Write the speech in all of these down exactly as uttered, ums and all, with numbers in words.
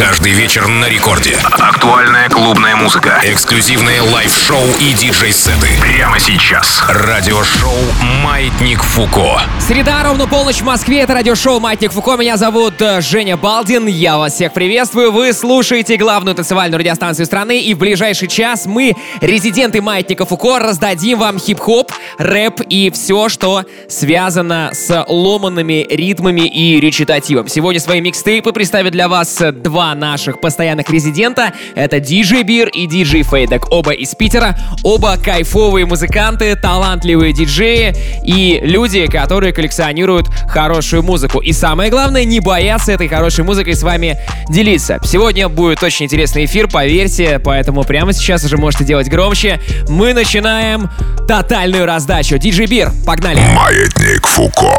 Каждый вечер на рекорде. Актуальная клубная музыка, эксклюзивные лайв-шоу и диджей-сеты. Прямо сейчас. Радиошоу «Маятник Фуко». Среда, ровно полночь в Москве. Это радиошоу «Маятник Фуко». Меня зовут Женя Балдин. Я вас всех приветствую. Вы слушаете главную танцевальную радиостанцию страны. И в ближайший час мы, резиденты «Маятника Фуко», раздадим вам хип-хоп, рэп и все, что связано с ломанными ритмами и речитативом. Сегодня свои микстейпы представят для вас два наших постоянных резидента. Это диджей Бир и диджей Фейдек. Оба из Питера. Оба кайфовые музыканты, талантливые диджеи и люди, которые коллекционируют хорошую музыку. И самое главное, не боятся этой хорошей музыкой с вами делиться. Сегодня будет очень интересный эфир, поверьте, поэтому прямо сейчас уже можете делать громче. Мы начинаем тотальную раздачу. диджей Бир, погнали! Маятник Фуко.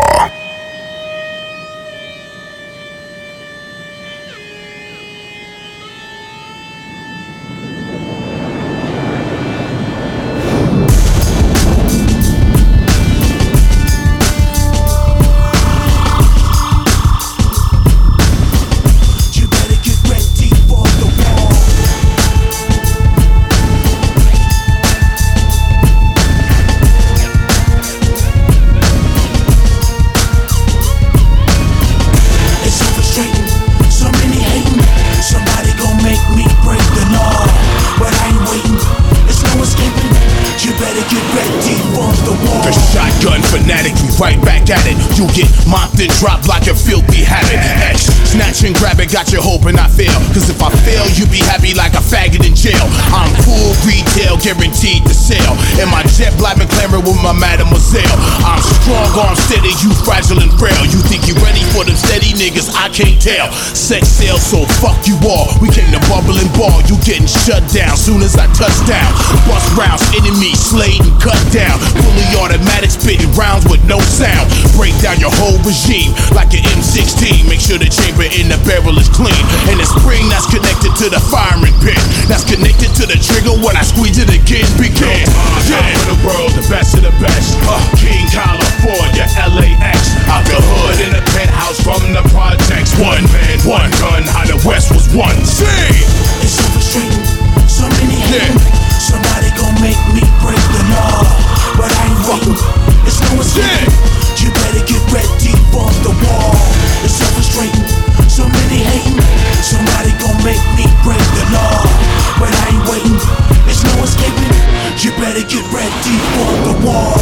Drop like a filthy habit. X, snatch and grab it, got you hoping I fail. Cause if I fail, you be happy like a faggot in jail. I'm full retail, guaranteed to sell. And my jet black and clamor with my mademoiselle. I'm strong, arm steady, you fragile and frail. You think you ready for them steady niggas? I can't tell. Sex sales, so fuck you all. We came to bubble and ball, you getting shut down soon as I touch down. Bust rounds, enemy slayed and cut down. Fully automatic, spitting rounds with no sound. Break down your whole regime like an M sixteen. Make sure the chamber in the barrel is clean. And the spring that's connected to the firing pin, that's connected to the trigger when I squeeze it again. Begin. Yeah, for the world, the best of the best. Uh, King California, L A X. Out the hood in a penthouse from the projects. One man, one gun. How the West was one. See, it's so frustrating. So many hate. Yeah. Somebody gon' make me break the law, but I ain't waiting. It's no escape. Yeah. You better get ready for the wall. It's so frustrating, so many hating. Somebody gon' make me break the law, but I ain't waiting. There's no escaping. You better get ready for the wall.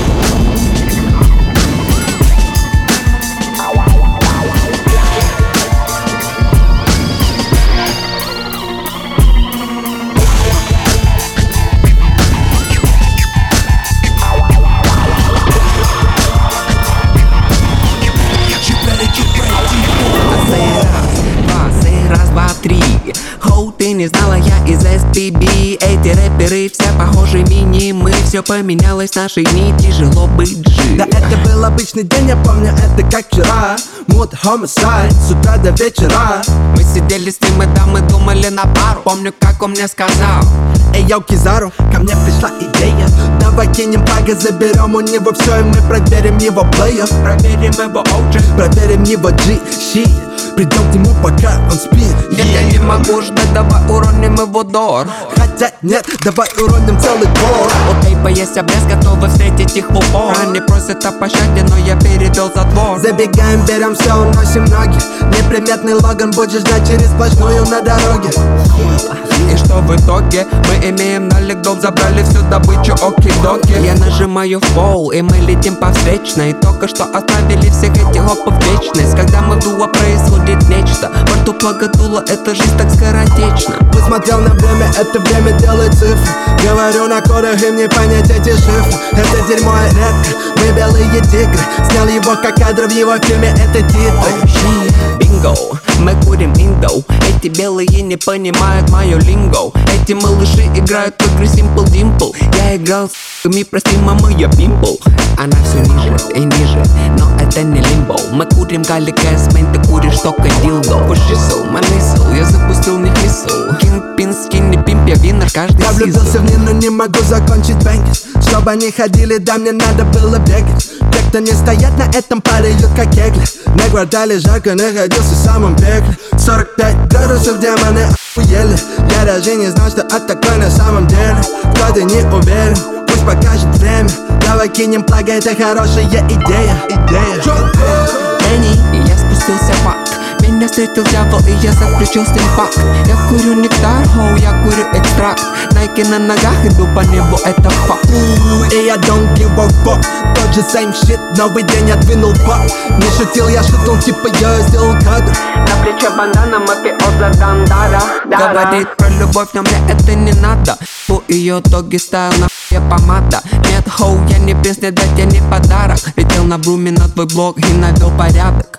Ты не знала, я из эс пи би. Эти рэперы все похожи мини-мы. Все поменялось, наши дни, тяжело быть жив. Да это был обычный день, я помню это как вчера. Муд, homicide, с утра до вечера. Мы сидели с ним, и да, мы думали на пару. Помню, как он мне сказал: эй, йоу, Кизару, ко мне пришла идея. Давай кинем пага, заберем у него все, и мы проверим его плеер. Проверим его о джи, проверим его джи, щит. Придем к нему, пока он спит. Нет, я не могу ждать, давай уроним его дор. Хотя нет, давай уроним целый двор. У тейпа есть обрез, готовы встретить их в упор. Они просят о пощаде, но я передал затвор. Забегаем, берем все, уносим ноги. Неприметный Логан будет ждать через сплошную на дороге. И что в итоге? Мы имеем налик, дом, забрали всю добычу, оки-доки. Я нажимаю в пол, и мы летим по встречной. Только что оставили всех этих хопов в вечность. Когда мы в дуо, происходит нечто. Во рту погодуло, эта жизнь так скоротечна. Посмотрел на время, это время делает цифры. Говорю на кодах, им не понять эти шифры. Это дерьмо редко, мы белые тигры. Снял его как кадр в его фильме, это титры. Бинго, мы курим индо. Эти белые не понимают мою линго. Эти малыши играют в игры Simple Dimple. Я играл с ми, прости, мама, я пимпл. Она все ниже и ниже, но это не лимбо. Мы курим галли кэсмен, ты куришь только дилдо. Пушисл, манисл, я запустил них мисл. Кингпин, скинни, пимп, я винер каждый Я сезон. влюбился в них, но не могу закончить бэнгис. Чтобы они ходили, да мне надо было бегать. Те, кто не стоят на этом, падают как кегли. На квартале жарко, находился в самом пекле. Сорок пять градусов, демоны охуели. Я даже не знал, что от такой на самом деле. Кто-то не уверен, пусть покажет время. Давай кинем плаги, это хорошая идея. Идея. Энни, и я спустился в ад. Меня встретил дьявол, и я заключил с ним пакт. Я курю нектар, хоу, я курю экстракт. Найки на ногах, иду по небу, это факт. И я don't give a fuck. Тот же same shit, новый день отвинул бак. Не шутил, я шутил, типа я сделал кадр. На плече бандана, мафиоза дандара. Говорит про любовь, но мне это не надо. У ее доги стайл, нахуй помада. Нет, хоу, я не принц, не дать, я не подарок. Летел на бруме на твой блог и навел порядок.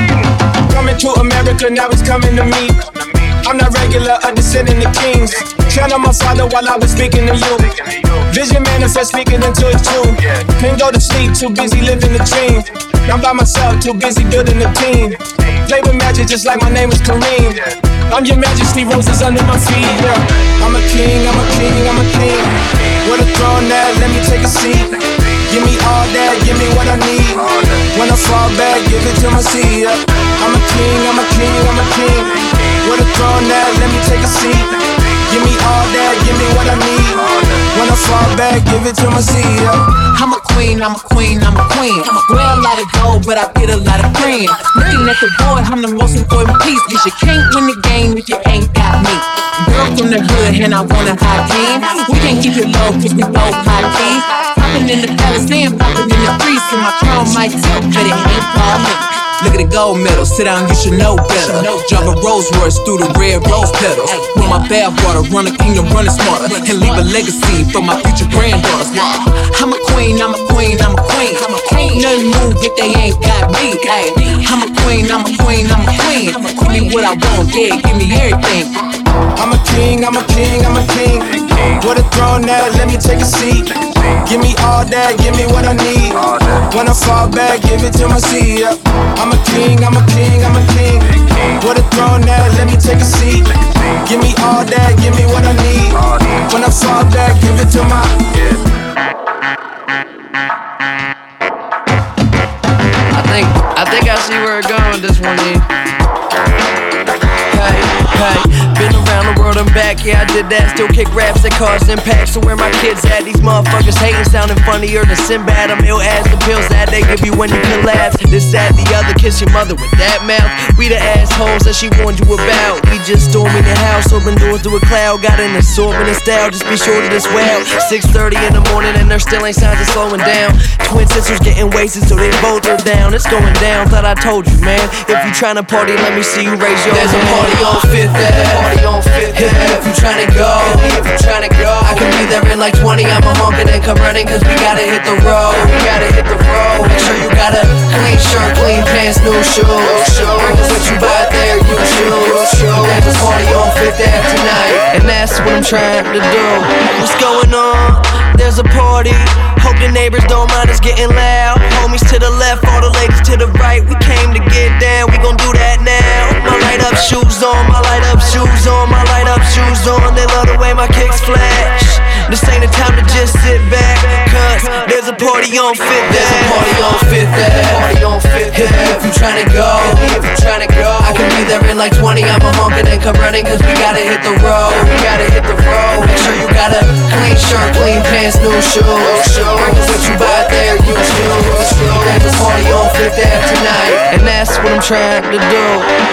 Now he's coming to me. I'm not regular, I'm descending the kings. count on my father while I was speaking to you. Vision manifest, speaking into it too. Can't go to sleep, too busy living the dream. I'm by myself, too busy building a team. Play with magic just like my name is Kareem. I'm your majesty, roses under my feet, yeah. I'm a king, I'm a king, I'm a king. With a throne there, let me take a seat. Give me all that, give me what I need. When I fall back, give it to my seat, yeah. I'm a king, I'm a king, I'm a king. With a throne there, let me take a seat. Give me all that, give me what I need. When I fall back, give it to my seat, yeah. I'm a queen, I'm a queen, I'm a queen. Wear a lot of gold, but I get a lot of cream. Looking at the board, I'm the most important piece. Cause you can't win the game if you ain't got me. Girl from the hood, and I want a high team. We can't keep it low, cause we both high keys. Popping in the palace and popping in the streets. And my crown might tilt, but it ain't for me. Look at the gold medal, sit down, you should know better. Drive a Rolls Royce through the red rose petals. Pour my bathwater, run a kingdom, running smarter. And leave a legacy for my future granddaughters. I'm a queen, I'm a queen, I'm a queen. Ain't nothing move if they ain't got me. I'm a queen, I'm a queen, I'm a queen. Give me what I want, yeah, give me everything. I'm a king, I'm a king, I'm a king. With a throne there, let me take a seat. Give me all that, give me what I need. When I fall back, give it to my seat, yeah. I'm a king, I'm a king, I'm a king. With a throne there, let me take a seat. Give me all that, give me what I need. When I fall back, give it to my I think, I think I see where it's going with this one, yeah. Hey, hey, been around the world and back, yeah, I did that. Still kick raps that cause impact. So where my kids at? These motherfuckers hating, sounding funnier than Sinbad. I'm ill as the pills that they give you when you collapse. This, that, the other, kiss your mother with that mouth. We the assholes that she warned you about. We just storming the house, open doors to a cloud. Got an assortment of style, just be sure to this well. six thirty in the morning and there still ain't signs of slowing down. Twin sisters getting wasted so they both are down. It's going down, thought I told you, man. If you tryna party, let me see you raise your hand. There's a party on Fifth Ave, party on Fifth Ave. If you tryna go, if you tryna go, I can be there in like twenty. I'm a honkin' and come running, cause we gotta hit the road. We gotta hit the road. Make sure you got a clean shirt, clean pants, new shoes. What you buy there, you choose. There's a party on Fifth Ave tonight, and that's what I'm trying to do. What's going on? There's a party. Hope the neighbors don't mind us getting loud. Homies to the left, all the ladies to the right. We came to get down, we gon' do that now. My light up shoes on, my light up shoes on, my light up shoes on. They love the way my kicks flash. This ain't the time to just sit back, cause there's a party on Fifth Ave. There's a party on Fifth Ave. Party on Fifth Ave. If you tryna go, if you tryna go, I can be there in like twenty. I'm a honkin' and come running, cause we gotta hit the road. We gotta hit the road. Make sure you got a clean shirt, clean pants, new shoes. What you buy there, you choose. There's a party on Fifth Ave tonight, and that's what I'm trying to do.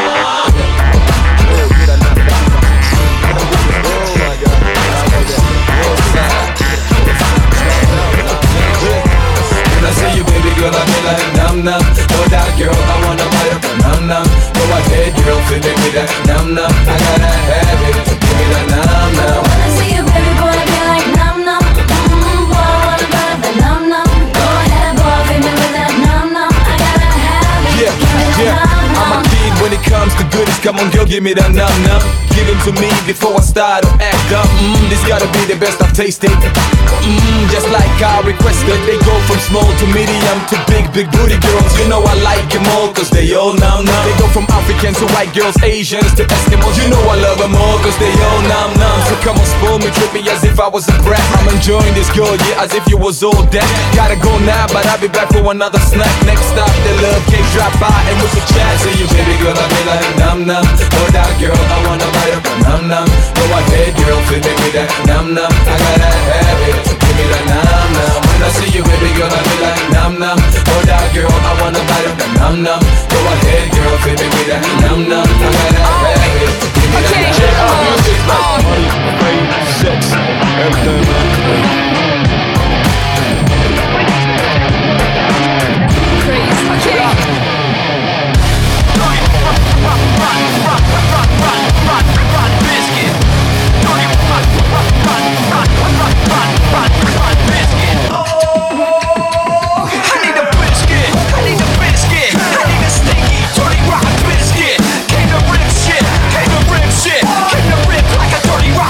Girl, I feel like nom nom. No doubt, girl, I wanna bite up a nom nom. Go ahead, girl, fill me with that nom nom. I gotta have it, give me that nom nom. Wanna see you, baby boy, be like nom nom. Mmm, boy, I wanna bite up a nom nom. Go ahead, boy, fill me with that nom nom. I gotta have it, yeah, give me that yeah. nom nom. I'm a kid when it comes to goodies. Come on, girl, give me that nom nom. Give it to me before I start to act up. Mmm, this gotta be the best I've tasted. Mmm, just like I requested. They go from small to medium to big, big booty girls. You know I like them all, cause they all nom nom. They go from Africans to white girls, Asians to Eskimos. You know I love them all, cause they all nom nom. So come on, spoil me, trip me as if I was a brat. I'm enjoying this girl, yeah, as if you was all that. Gotta go now, but I'll be back for another snack. Next stop, the love cake drop by and with the chat. See you, baby girl, I be like nom nom. No doubt, girl, I wanna bite up a nom nom. Go ahead, girl, fill me with that nom nom. I gotta have it, give me that nom nom. When I see you, baby girl, I be like nom nom. No doubt, girl, I wanna bite up a nom nom. Go ahead, girl, fill me with that nom nom. I gotta have it, give me that nom nom. Music like money, fame, sex, everything, man. Dirty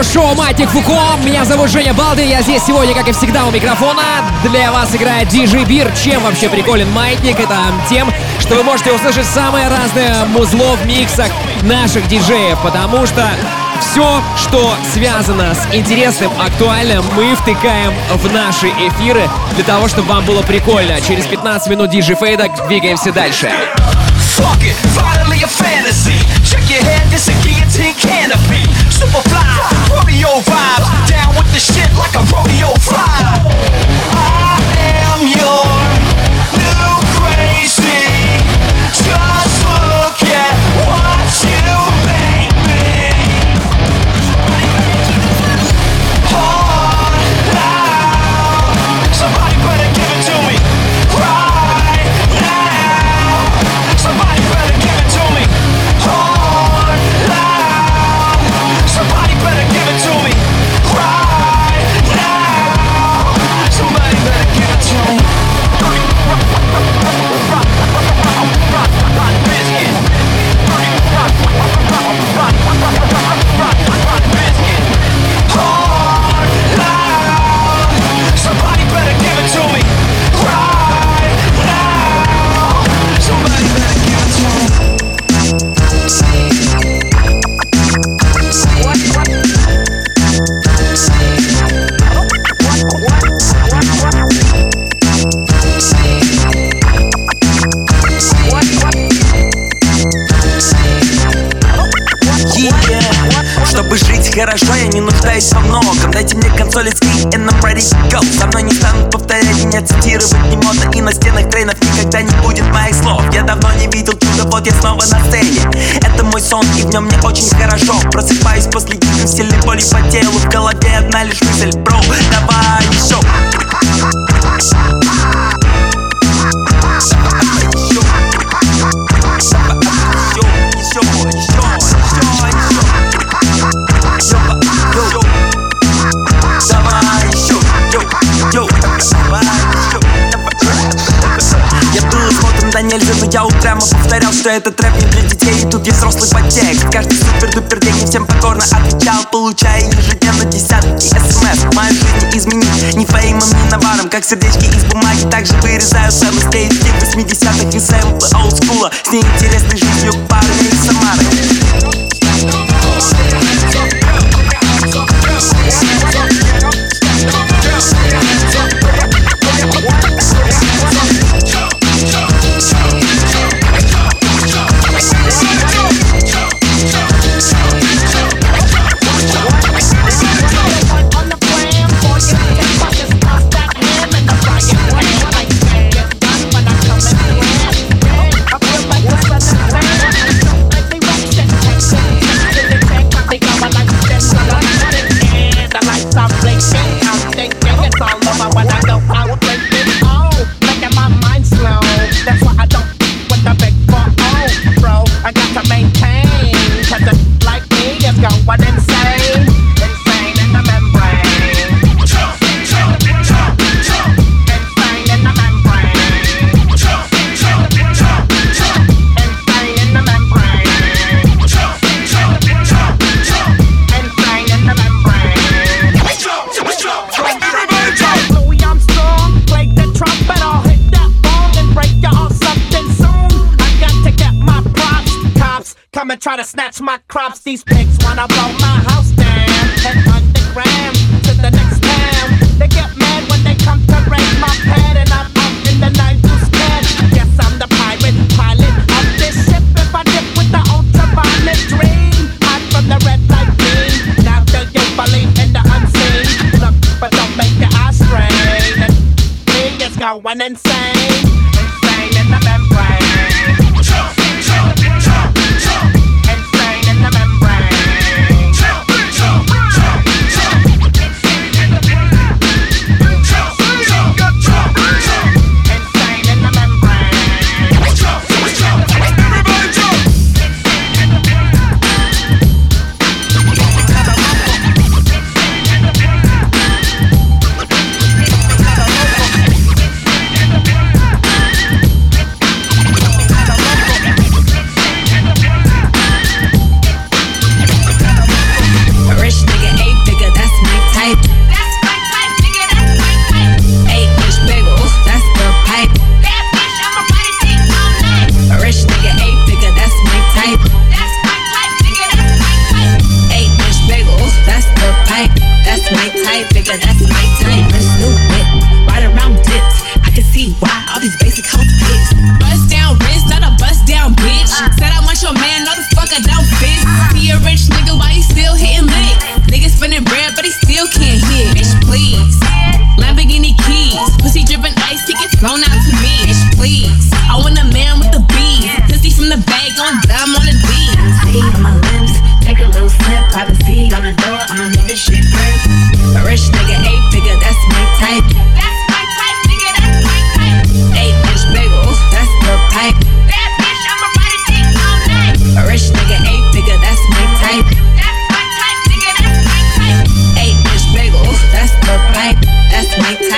радиошоу «Маятник Фуко». Меня зовут Женя Балдин. Я здесь сегодня, как и всегда, у микрофона. Для вас играет диджей Бир. Чем вообще приколен Маятник? Это тем, что вы можете услышать самое разное музло в миксах наших диджеев. Потому что все, что связано с интересным, актуальным, мы втыкаем в наши эфиры для того, чтобы вам было прикольно. Через пятнадцать минут диджей Фейда двигаемся дальше. Fuck it, finally a fantasy. Check your head, this a guillotine canopy. Superfly, rodeo vibes. Down with the shit like a rodeo fly. I am your new crazy. Just look at what you make me. Hard loud. Somebody better give it to me. Right now. Somebody better give it to me. Hard, loud. Somebody better give it to me. Right now. Somebody better give it to me. Hard, loud. Somebody better give it to me. Right now. Somebody better give it to me. Чтобы жить хорошо, я не нуждаюсь во многом. Дайте мне консоль скрин and I'm ready to go. Со мной не станут повторять, меня цитировать не модно. И на стенах тренов никогда не будет моих слов. Я давно не видел чуда, вот я снова на сцене. Это мой сон, и в нем мне очень хорошо. Просыпаюсь после дикой сильной боли по телу. В голове одна лишь мысль, бро, давай еще. Нельзя, но я упрямо повторял, что этот рэп не для детей. И тут есть взрослый подтекст. Каждый супер-дупер день и всем покорно отвечал, получая ежедневно десятки смс. Мою жизнь изменить ни феймом, ни наваром. Как сердечки из бумаги, также вырезаю целостей из восьмидесятых и сэмплы олдскула с неинтересной жизнью парня из Самары. Try to snatch my crops, these pigs wanna blow my house down and underground to the next town. They get mad when they come to raid my pad, and I'm up in the night who's scared. Guess I'm the pirate pilot of this ship. If I dip with the ultraviolet dream, hide from the red light beam. Now do you believe in the unseen? Look, but don't make your eyes strain. And me is going insane, insane in the membrane.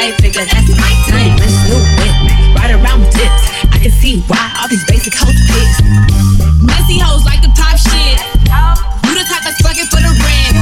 type, figure that's my type. This new whip, right around dips. I can see why all these basic hoes pissed. Messy hoes like the pop shit. You the type that's fucking for the rent.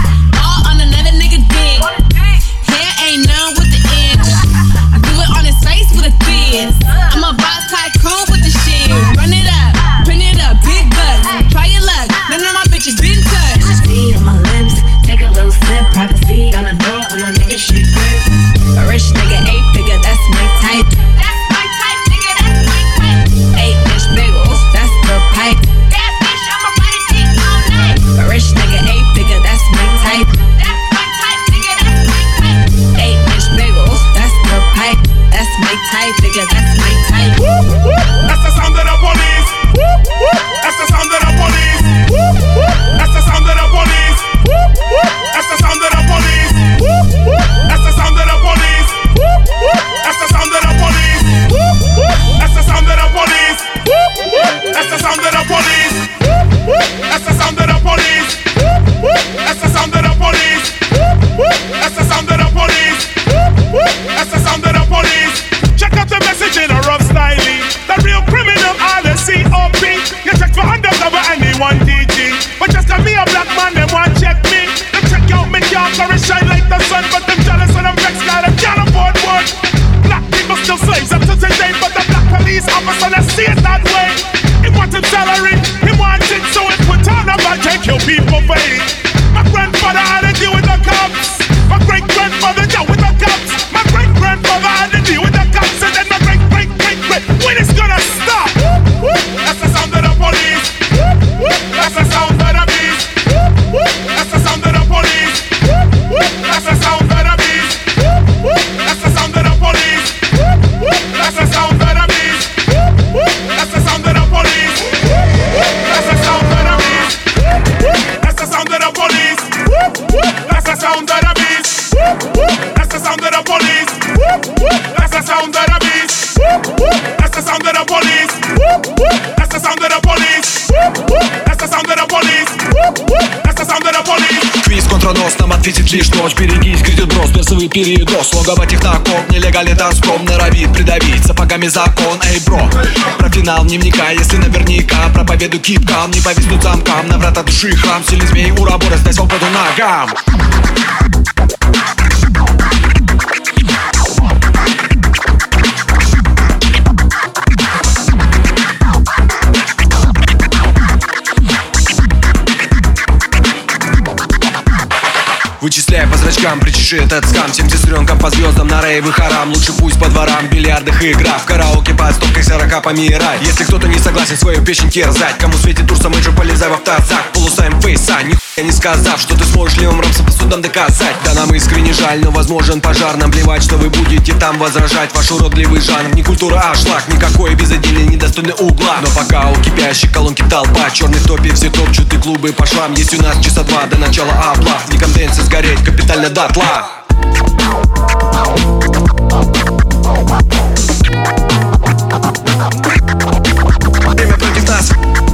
All on another nigga dick. Hair ain't none with the inch. I do it on his face with a fizz. I'm a boss tycoon with the shit. Run it up, print it up, big buzz. Try your luck, none of my bitches been touched. See on my lips, take a little sip. Privacy on the door when I make a shit grip. A rich nigga, eight figure, that's my type. That's my type, nigga, that's my type. Eight inch bagels, that's the pipe. That bitch, I'ma ride a dick all night. A rich nigga, eight figure, that's my type. That's my type, nigga, that's my type. Eight inch bagels, that's the pipe. That's my type, nigga, that's my type. That's the sound of the police. That's the sound of the police. That's the sound of the police. That's the sound of the police. That's the sound of the police. That's the sound of the police. That's the sound of the police. That's the sound of the police. That's the sound of the police. That's the sound of the police. That's the sound of the police. That's the sound of the police. Check out the message in a rough style. The real criminal are the C O P. You check for undercover anyone D G. But just cause me a black man, them want check me. Them check out me car for it shine like the sun. But them jealous and them vexed cause them can't afford one. Black people still slaves up to today. But the black police officer, they see it that way. He wanted salary, he wanted so it would turn up and take your people for it. My grandfather had to deal with the cops. My great grandfather dealt with the cops. My great grandfather had to deal with the cops. And then my great great great great. When it's gonna stop? That's the sound of the police. That's the sound of the beast. That's the sound of the police. That's the sound of the beast. That's the sound of the police. That's the sound of the beast. That's the sound of the police. That's the sound of the beast. That's the sound of the police. That's the sound of the beast. That's the sound of the police. That's the sound of the beast. That's the sound of the police. That's the sound of the police. That's the sound of the police. That's the sound of the police. Квиз контранос, нам ответит лишь ночь. Берегись, грядет брос, персовый передоз. Логово техноком, нелегальный танцпром. Норовит придавить сапогами закон. Эй, бро, про финал не вникай. Если наверняка проповеду кипкам, не повиснут замкам. На врата души храм, сильный змей, урабора, сдай свободу ногам. Вычисляй по зрачкам, причеши этот скам. Всем сестренкам по звездам на рейвы харам. Лучше пусть по дворам, бильярдах и игра. В караоке под стопкой сорока помирай. Если кто-то не согласен свою печень терзать, кому светит тур, самый полезай в автозак. Полусайм фейса, нихуя не сказав, что ты сможешь левым рамсом по судам доказать. Да нам искренне жаль, но возможен пожар. Нам плевать, что вы будете там возражать. Ваш уродливый жанр, не культура, а шлак. Никакой безотдельный, недостойный угла. Но пока у кипящей колонки толпа, черный в топе, все топчут и клубы по швам. Есть у нас часа два до начала облав. Не конденсы сгореть капитально дотла. Время против нас.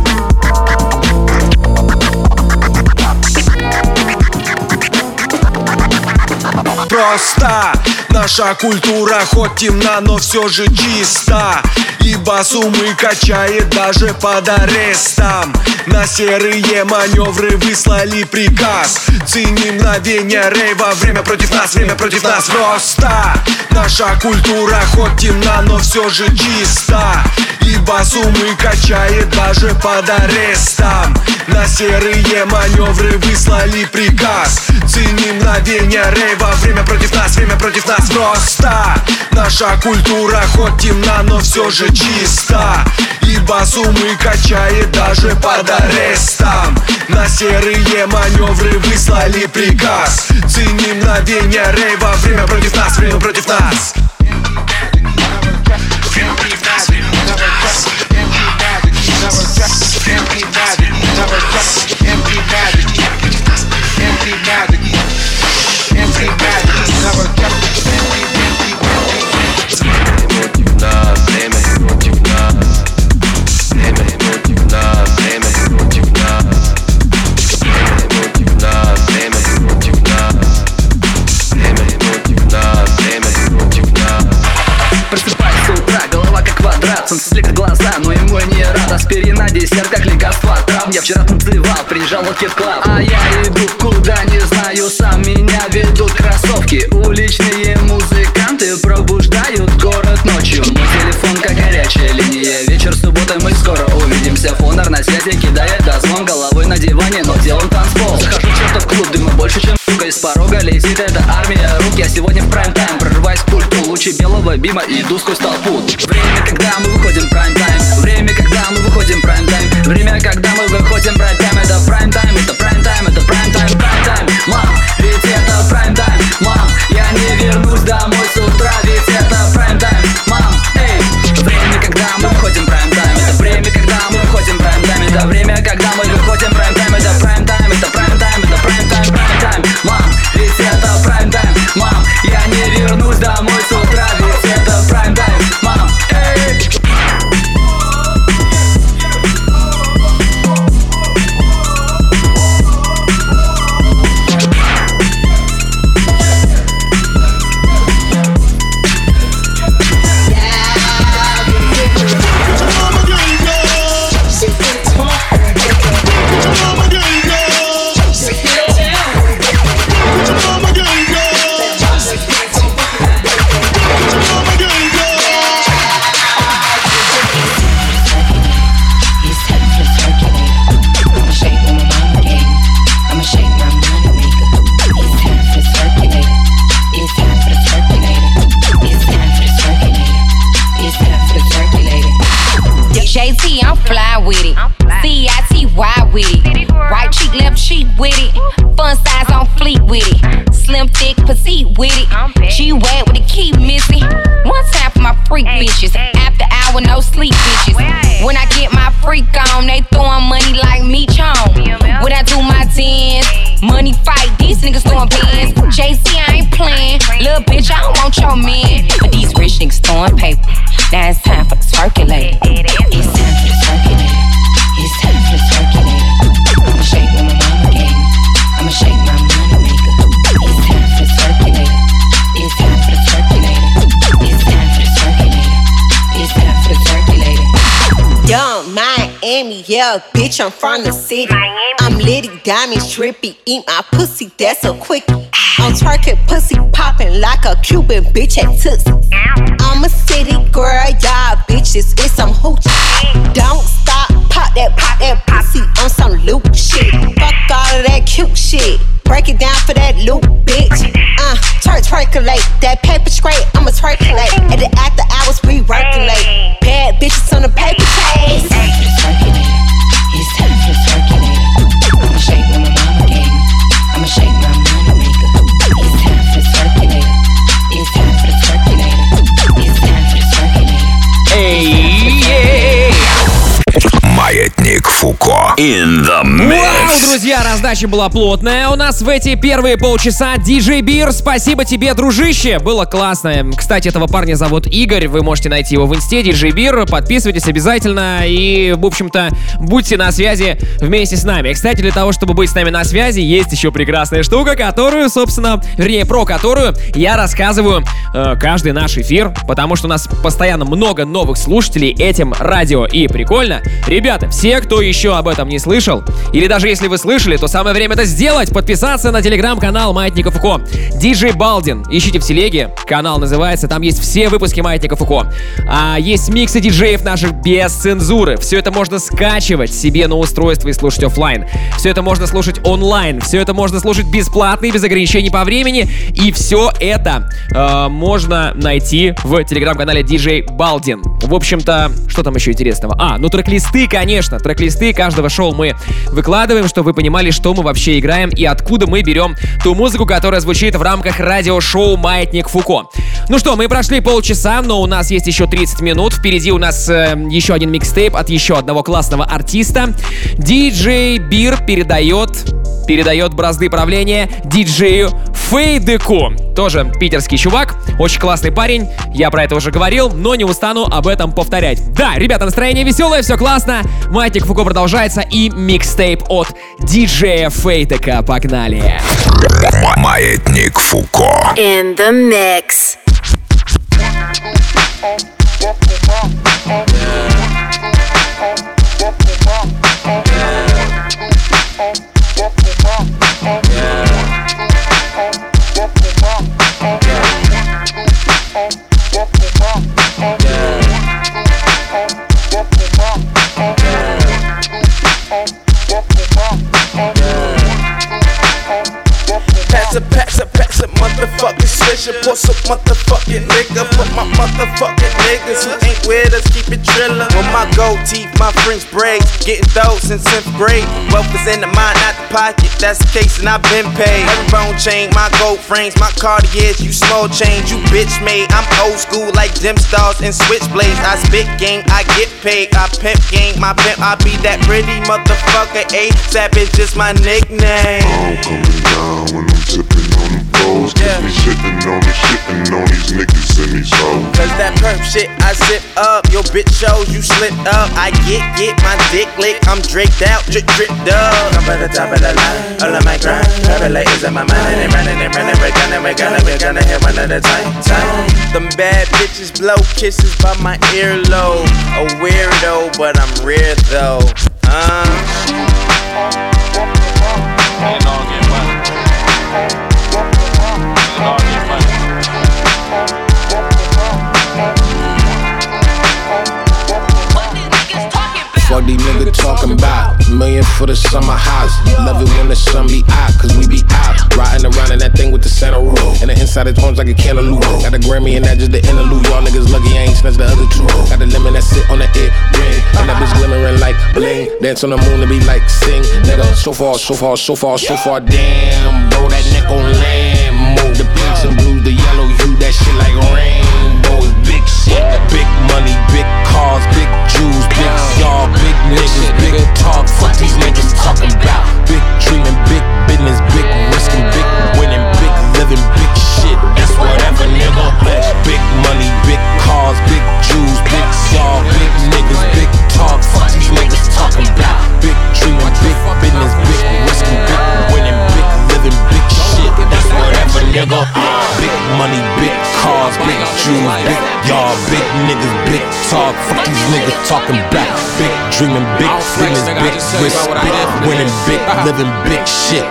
Просто наша культура хоть темна, но все же чиста. Ибо суммы качает даже под арестом. На серые маневры выслали приказ. Ценим мгновение рейва. Время против нас, время против нас. Просто наша культура хоть темна, но все же чиста. Ибо суммы качает даже под арестом. На серые маневры выслали приказ. Ценим мгновение рейва. Время против нас, время против нас. Просто наша культура хоть темна, но все же чиста. Ибо суммы качает даже под арестом. На серые маневры выслали приказ. Ценим мгновение рейва. Время против нас, время против нас. Время против нас, время против нас. Empty magic, never trust. Empty magic, empty magic, empty magic, never trust. Против нас, время против нас. Время против нас, время против нас. Время против нас, время против нас. Время против нас. солнце слепит глаза, но ему и не рад. Аспирин на десерт, как лекарство от травм. Я вчера танцевал, приезжал в Кит Клаб. А я иду куда не знаю сам, меня ведут кроссовки. Уличные музыканты пробуждают город ночью. Мой телефон как горячая линия. Вечер субботы, мы скоро увидимся. Фонар на связи кидает дозвон, головой на диване, но делом танцпол. Захожу в чертов клуб, дыма больше, чем сука. Из порога летит эта армия рук. Я сегодня в прайм-тайм, прорываюсь к пульту. Лучи белого бима, иду сквозь толпу. Время, когда мы выходим в прайм-тайм. Время, когда мы выходим в прайм-тайм. Время, когда мы выходим в прайм-тайм. Это прайм-тайм, это прайм-тайм, это прайм-тайм, прайм-тайм. Мам, ведь это прайм-тайм. Мам, я не вернусь домой с утра, ведь это прайм-тайм. Мам, эй. Время, когда мы выходим в прайм-тайм. Это время, когда мы выходим в прайм-тайм. Это время, когда мы выходим в прайм-тайм. Это прайм-тайм, это прайм-тайм, это прайм-тайм, прайм-тайм. Мам, ведь это прайм-тайм. Мам, я не вернусь домой с утра, ведь это прайм-тайм. Мам, эй. I'm fly with it. C I T Y with it. Right cheek, left cheek with it. Fun size on fleet with it. Slim, thick, petite with it. G wet with the key missing. One time for my freak bitches. After hour, no sleep bitches. When I get my freak on, they throwing money like me chong. When I do my dance, money fight, these niggas throwing bands. J C, I ain't playing. Little bitch, I don't want your man. But these rich niggas throwing paper. Now it's time for the circulator. It's time for the circulator. It's time for the circulator. I'ma shake what my mama gave me. I'ma shake my money maker. It's time for the circulator. It's time for the circulator. It's time for the circulator. It's time for the circulator. Young Miami, yeah, bitch, I'm from the city. I'm litty, diamonds, trippy. Eat my pussy, that's a quickie. I'm twerking, pussy popping like a Cuban bitch at Tootsie. I'm a city girl, y'all bitches, it's some hoochie. Don't stop, pop that, pop that pussy on some loop shit. Fuck all of that cute shit. Break it down for that loop, bitch. Uh, twerk, twerkulate. That paper straight, I'ma twerkulate. At the after hours, we working late. Bad bitches on the paper chase. It's time for the circulator. It's time for the circulator. I'ma shake what my mama gave me. I'ma shake my money maker. It's time for the circulator. It's time for the circulator. It's time for the circulator. Эй, Маятник Фуко in the mix. Вау, друзья, раздача была плотная. У нас в эти первые полчаса диджей Бир. Спасибо тебе, дружище. Было классно. Кстати, этого парня зовут Игорь. Вы можете найти его в инсте, диджей Бир. Подписывайтесь обязательно. И, в общем-то, будьте на связи вместе с нами. Кстати, для того, чтобы быть с нами на связи, есть еще прекрасная штука, которую, собственно, вернее, про которую я рассказываю э, каждый наш эфир. Потому что у нас постоянно много новых слушателей этим радио. И прикольно. Ребята, все, кто еще об этом не слышал, или даже если вы слышали, то самое время это сделать. Подписаться на телеграм-канал Маятника Фуко. диджей Балдин. Ищите в телеге. Канал называется. Там есть все выпуски Маятника Фуко. А есть миксы диджеев наших без цензуры. Все это можно скачивать себе на устройство и слушать офлайн. Все это можно слушать онлайн. Все это можно слушать бесплатно и без ограничений по времени. И все это э, можно найти в телеграм-канале диджей Балдин. В общем-то, что там еще интересного? А, ну трек-листы, конечно. Трек-листы каждого шоу мы выкладываем, чтобы вы понимали, что мы вообще играем и откуда мы берем ту музыку, которая звучит в рамках радиошоу «Маятник Фуко». Ну что, мы прошли полчаса, но у нас есть еще тридцать минут. Впереди у нас э, еще один микстейп от еще одного классного артиста. диджей Бир передает, передает бразды правления диджею Фейдеку. Тоже питерский чувак, очень классный парень. Я про это уже говорил, но не устану об этом повторять. Да, ребята, настроение веселое, все классно. Маятник Фуко продолжается и микстейп от диджея Фейдека. Погнали. Маятник Фуко. In the mix. Pass it, pass it, pass it, motherfucking swisher. Pour some motherfucking nigga for my motherfucking niggas who ain't with us, keep it drillin'. With my gold teeth, my French braids, getting those since tenth grade. Wealth is in the mind, not the pocket, that's the case and I've been paid. Herringbone chain, my gold frames, my Cartiers, you small change, you bitch made. I'm old school like Dim Stars and Switchblades. I spit game, I get paid, I pimp game, my pimp, I be that pretty motherfucker. A$AP is just my nickname. I'm coming down when I'm tipping on the foes. Cause we shitting on the shitting on these niggas and these hoes. Cause that perp shit I zip up, your bitch shows you slip up. I get, get my dick licked, I'm draked out, drip, drip, dub. I'm by the top of the line, all of my grind. Travel is in my mind and they running, they running. We're gonna, we're gonna, we're gonna hit one at a time, time. Them bad bitches blow kisses by my earlobe. A weirdo, but I'm rare though. Uh. It all get money. It all get money. Fuck these niggas talking about million for the summer house. Love it when the sun be out, cause we be out. Riding around in that thing with the Santa roof. And the inside of homes like a cantaloupe. Got a Grammy and that just the interlude. Y'all niggas lucky I ain't snatched the other two. Got the lemon that sit on the ear ring. And that bitch glimmering like bling. Dance on the moon and be like sing. Nigga, so far, so far, so far, so far. Damn, bro, that neck on land. Move the pinks and blues, the yellow hue. That shit like rainbows. Big shit, big money, big cars, big Jews, big y'all, big niggas, big talk. Fuck these niggas talking about. Big dreaming, big business, big risking, big winning, big living, big shit. That's whatever, nigga. Big money, big cars, big Jews, big y'all, big niggas, big talk. Fuck these niggas talking about. Big dreaming, big business, big risking, big winning, big living, big shit. That's whatever, nigga. Big money, big cars, big Jews, big y'all, big niggas, big talk. Fuck these niggas talking about. Big dreaming, big business, big risk, big winning, big living, big shit.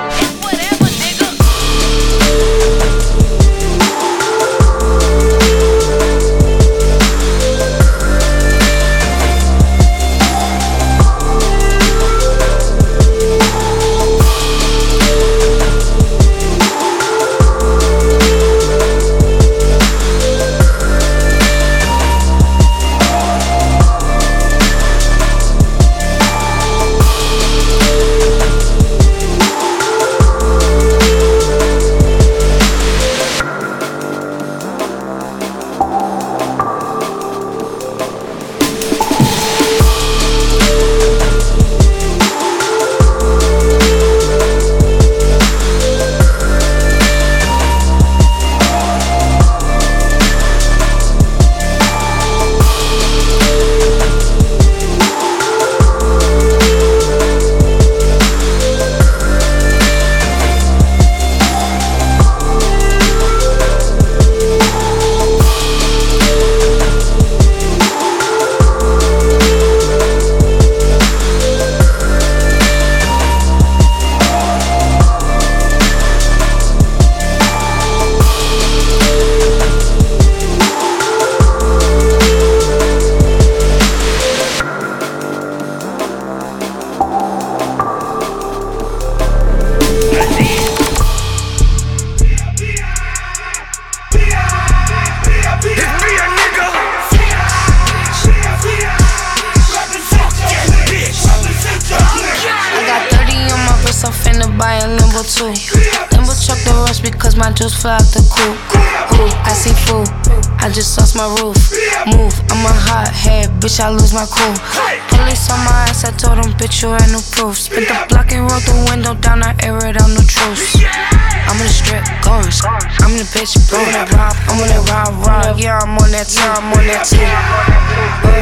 Just fly out the coop. Ooh, I see food. I just lost my roof. Move, I'm a hot head, bitch. I lose my cool. Police on my ass, I told them, bitch, you ain't no proof. Spit the block and roll the window down, I air it out, no truce. I'm in the strip, going. I'm in the bitch, blowing that rob. I'm on that rob, rob. Yeah, I'm on that time, I'm on that team. Uh,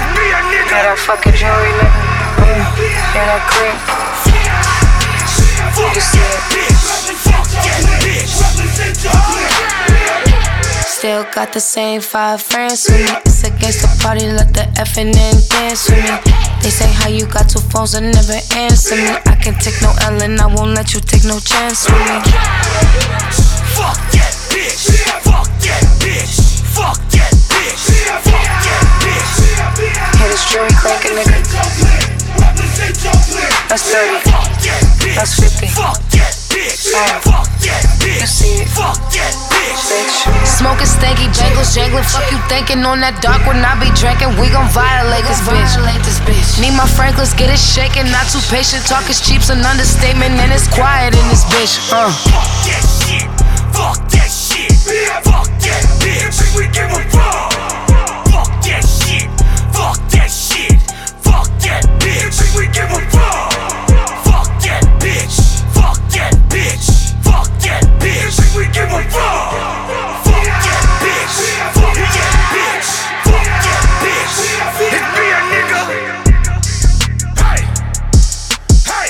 yeah, that fucking jewelry, nigga. Uh, yeah, that cream. You can see it. still got the same five friends with me. It's against the party, let the effing in dance with me. They say how you got two phones and never answer me. I can take no L and I won't let you take no chance with me. Fuck that bitch, fuck that bitch, fuck that bitch, fuck that bitch. Hit a string, crank a nigga. That's thirty, that's fifty. Fuck that bitch, fuck that bitch, you see it. Fuck that bitch. Smoking stanky jangles, jangling. Fuck you thinking on that dark when I be drinking. We gon' violate this bitch. Need my Franklin's, get it shaking. Not too patient. Talk is cheap's an understatement, and it's quiet in this bitch. Uh. Fuck that shit. Fuck that shit. Fuck that bitch. We give a fuck. Fuck that shit. Fuck that shit. Fuck that bitch. We give a fuck. Fuck that bitch. Fuck that bitch. Fuck that bitch. We give a fuck. Fuck that bitch. Fuck that bitch. Fuck that bitch. Hit me a nigga. Hey. Hey.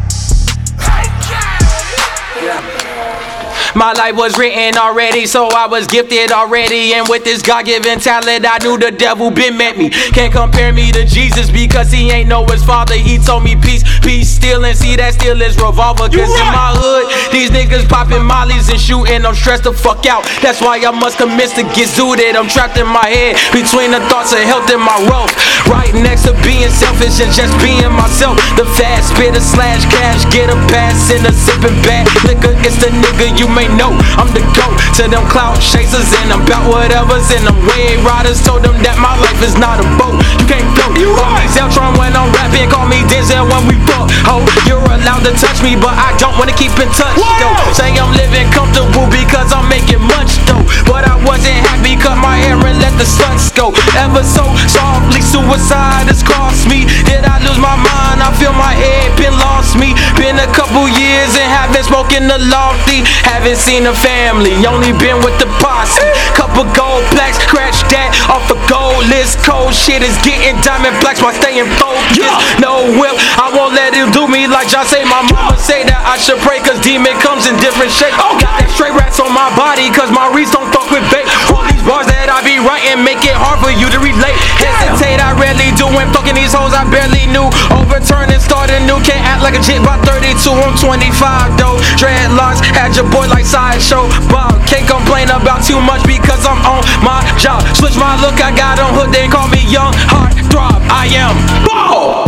Hey. Yeah. My life was written already, so I was gifted already. And with this God-given talent, I knew the devil been met me. Can't compare me to Jesus because he ain't know his father. He told me peace, peace, steal, and see that still is revolver. Cause in my hood, these niggas popping mollies and shooting, I'm stressed the fuck out. That's why I must commence to get zooted. I'm trapped in my head between the thoughts of health and my wealth. Right next to being selfish and just being myself. The fast spitter slash cash, get a pass in a sipping bag. Liquor, it's the nigga you may know. I'm the GOAT to them cloud chasers and I'm about whatever's in them. Wave riders told them that my life is not a boat. You can't go. You call me Zeltron when I'm rapping, call me Denzel when we fuck. Ho, you're allowed to touch me, but I don't wanna keep in touch. Yo, say I'm living comfortable because I'm making much dough, but I wasn't happy, cut my hair and let the suns go. Ever so softly, suicide has cost me. Did I lose my mind? I feel my head been lost me. Been a couple years and haven't spoken the lofty. Haven't seen a family, only been with the posse. Couple gold plaques, scratch that off a gold list. Cold shit is getting diamond blacks while staying focused. No whip, I won't let him do me like John say. My mama say that I should pray cause demon comes in different shapes. Got that straight rats on my body cause my reeds don't fuck with bait. All these bars that I be writing make it hard for you to relate. Hesitate, I rarely do when fucking these hoes I barely knew. Overturn and start anew, can't act like a jit by thirty-two, I'm twenty-five though. Dreadlocks, had your boy like sideshow Bob. Can't complain about too much because I'm on my job. Switch my look, I got on hood, they call me young heart throb. I am ball.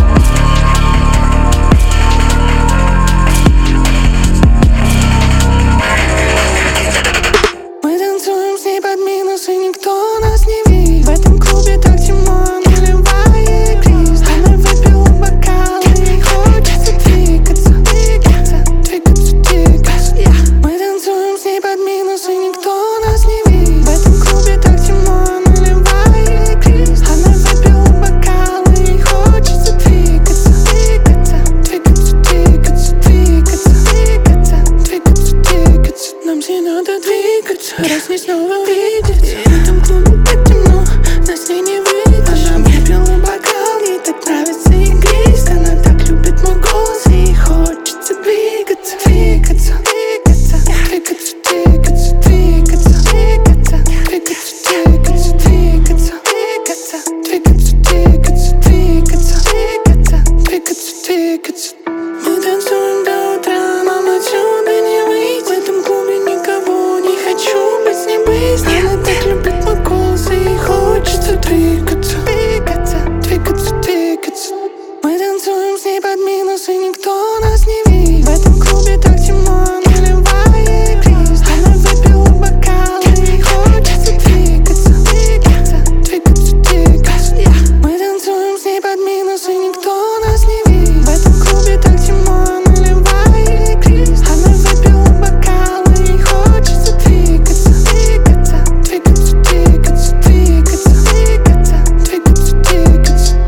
Мы танцуем с ней под минус, и никто нас не видит. В этом клубе так темно, наливая игрист. Она выпила бокал, и хочется двигаться, двигаться, двигаться, двигаться. Мы танцуем с ней под минус, и никто нас не видит. В этом клубе так темно, наливая игрист. Она выпила бокал, и хочется двигаться, двигаться, двигаться, двигаться, двигаться, двигаться, двигаться, двигаться. Нам все надо двигаться, раз не снова увидеться. В этом клубе так темно, нас не не видно. Она выпила бокал, ей так нравится игрист. Она так любит мой голос, и хочется двигаться, двигаться, двигаться, двигаться, двигаться, двигаться, двигаться, двигаться, двигаться, двигаться, двигаться, двигаться, двигаться, двигаться, двигаться, двигаться. Мы танцуем до утра, нам отсюда не выйти. В этом клубе никого не хочу быть с ней близко. Она так любит мой голос, и хочется двигаться, двигаться, двигаться, двигаться. Мы танцуем с ней под минус, и никто нас не видит. В этом клубе так темно, наливая игрист. Она выпила бокал, и хочется двигаться, двигаться, двигаться, двигаться. Мы танцуем с ней под минус, и никто нас не видит. В этом клубе так темно, наливая игрист. Она выпила бокал, и хочется двигаться, двигаться, двигаться, двигаться, двигаться, двигаться, двигаться, двигаться.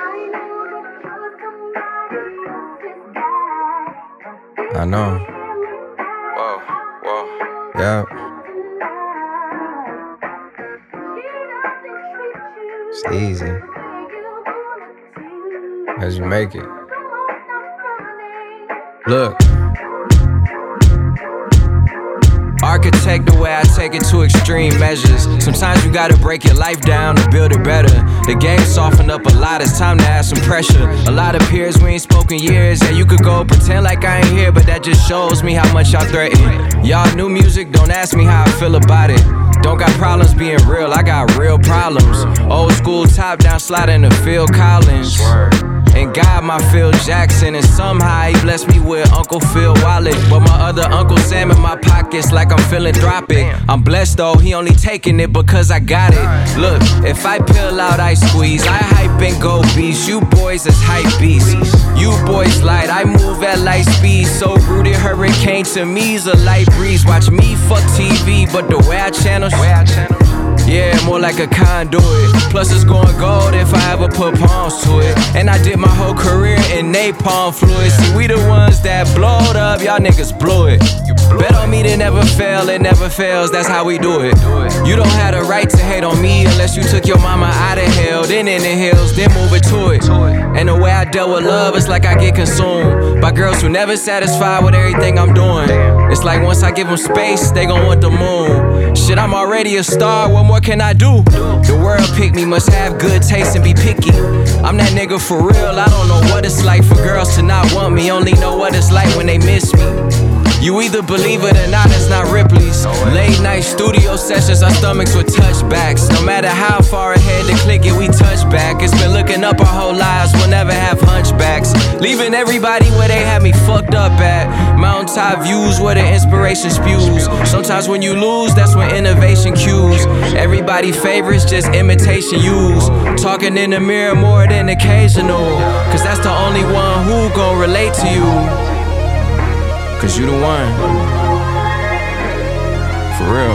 I know. Whoa, whoa. Yeah. It's easy as you make it. Look. architect the way I take it to extreme measures. Sometimes you gotta break your life down to build it better. The game softened up a lot, it's time to add some pressure. A lot of peers, we ain't spoken years. Yeah, you could go pretend like I ain't here, but that just shows me how much y'all threaten. Y'all new music, don't ask me how I feel about it. Don't got problems being real, I got real problems. Old school top down sliding to Phil Collins. And God, my Phil Jackson. And somehow he blessed me with Uncle Phil wallet. But my other Uncle Sam in my pockets like I'm philanthropic. I'm blessed though, he only taking it because I got it. Look, if I peel out, I squeeze. I hype and go beast. You boys is hype beasts. You boys light, I move at light speed. So rooted, hurricane to me's a light breeze. Watch me fuck T V, but the way I channel, yeah, more like a conduit. Plus it's going gold if I ever put palms to it. And I did my whole career in napalm fluid. See, we the ones that blowed up, y'all niggas blew it. Bet on me, they never fail, it never fails, that's how we do it. You don't have the right to hate on me unless you took your mama out of hell, then in the hills, then move it to it. And the way I dealt with love, it's like I get consumed by girls who never satisfied with everything I'm doing. It's like once I give them space, they gon' want the moon. Shit, I'm already a star, what more can I do? The world picked me, must have good taste and be picky. I'm that nigga for real, I don't know what it's like for girls to not want me. Only know what it's like when they miss me. You either believe it or not, it's not Ripley's. Late night studio sessions, our stomachs with touchbacks. No matter how far ahead to click it, we touch back. It's been looking up our whole lives, we'll never have hunchbacks. Leaving everybody where they had me fucked up at. Mountaintop views where the inspiration spews. Sometimes when you lose, that's when innovation cues. Everybody favorites, just imitation use. Talking in the mirror more than occasional. Cause that's the only one who gon' relate to you. Cause you the one. For real.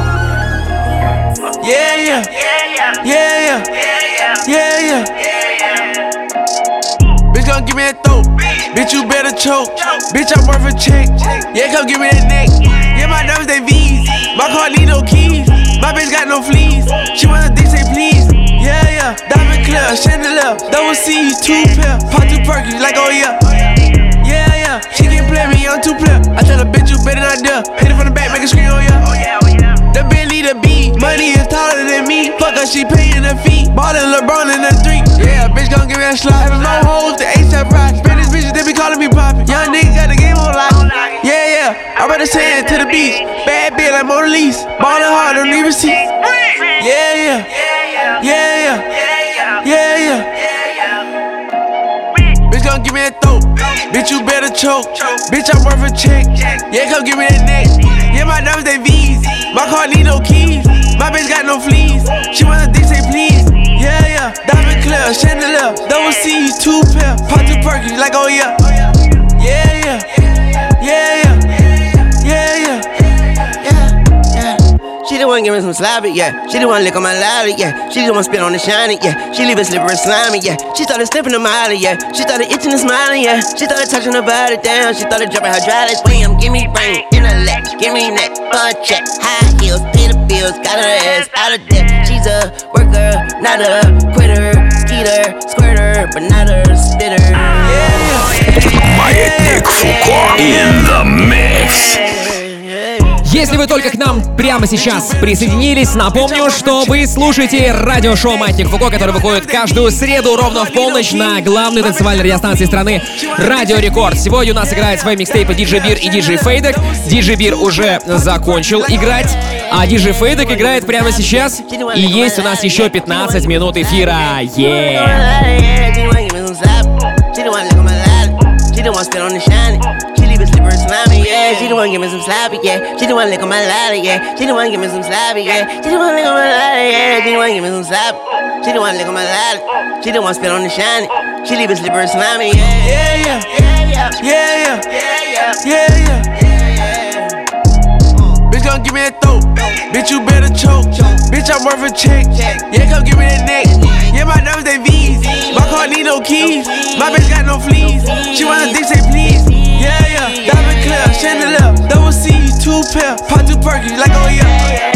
Yeah, yeah. Yeah, yeah. Yeah, yeah. Bitch, gon' give me that throat. Bitch, you better choke. Bitch, I'm worth a check. Yeah, come give me that neck. Yeah, my nerves, they V's. My car need no keys. My bitch got no fleas. She wanna dick, say please. Yeah, yeah. Diamond clear, chandelier. Double C's, two pair. Pop two perky, like oh yeah. Yeah, yeah, she can't play me, I'm too player. I tell a bitch you better not dare. Hit it from the back, make it scream, oh yeah. Oh yeah, oh yeah. The Bentley, the B, money is taller than me. Fuck her, she paying her fee. Ballin' LeBron in the three. Yeah, bitch gon' give me a slot. Having no hoes, the A$AP Rocky. Spanish bitches, they be calling me poppin'. Young nigga got the game on lock. Yeah, yeah, I rather sand to the beach. Bad bitch like Mona Lisa. Ballin' hard, don't need receipt. Yeah, yeah, yeah, yeah, yeah, yeah, yeah. Bitch gon' give me that throat. Bitch, you better choke. Bitch, I'm worth a check. Yeah, come give me that neck. Yeah, my nerves, they V's. My car need no keys. My bitch got no fleas. She wanna dick, say please. Yeah, yeah. Diamond clear, chandelier. Double C's, two pair. Pop two perky, like oh yeah. Yeah, yeah. Yeah, yeah. Yeah, yeah. She the one give me some sloppy, yeah. She the one lick on my lolly, yeah. She the one spit on the shiny, yeah. She leave it slippery slimy, yeah. She started sniffing the molly, yeah. She started itching and smiling, yeah. She started touching her body down. She started dropping hydraulics. Bam, give me brain, intellect, give me neck, fun check, high heels, pay the bills, got her ass out of debt. She's a worker, not a quitter, skeeter, squirter, but not a spitter. Yeah, Маятник Фуко in the mix. Если вы только к нам прямо сейчас присоединились, напомню, что вы слушаете радиошоу «Маятник Фуко», которое выходит каждую среду ровно в полночь на главной танцевальной радиостанции страны «Радио Рекорд». Сегодня у нас играет свои микстейпы диджей Бир и диджей Фейдек. диджей Бир уже закончил играть, а диджей Фейдек играет прямо сейчас. И есть у нас еще пятнадцать минут эфира. Slimy, yeah. She the one give me some sloppy, yeah. She the one lick on my ladder, yeah. She the one give me some sloppy, yeah. She the one lick on my ladder, yeah. She the one give me some sloppy. She the one lick on my ladder. She the one spit on the shiny. She leave it slippery slimy, yeah. Yeah, yeah, yeah, yeah, yeah, yeah, yeah, yeah. Bitch gon' give me that throat. Bitch, you better choke. Bitch, I'm worth a check. Yeah, come give me that neck. Yeah, my nerves, they V's. My car need no keys. My bitch got no fleas. She wanna dick, say please. Yeah, yeah, diamond clear, chandelier, double C's, two pair, pop two perky, like oh yeah.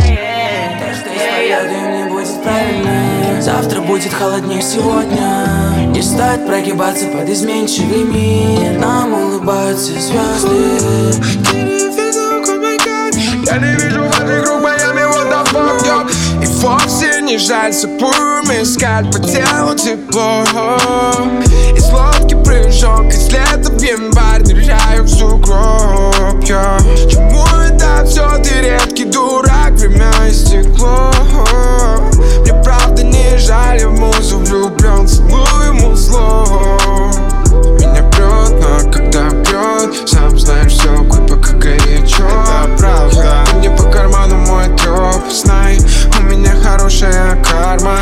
Не будет правильно, завтра будет холоднее сегодня. Не стоит прогибаться под изменчивый мир. Нам улыбаются звезды. Я не вижу ваших рук, Майами, what the fuck, yo. И вовсе не жаль сапуром искать по телу тепло. Из лодки прыжок, из лета в январь ныряю в сугроб, yo. Чему это все, ты редкий дурак, время истекло. Мне правда не жаль, я в музу влюблен, целую ему зло. Меня прет, но когда бьет, сам знаешь, все глупо, как горячо. Это правда, ты мне по карману мой троп. Знай, у меня хорошая карма.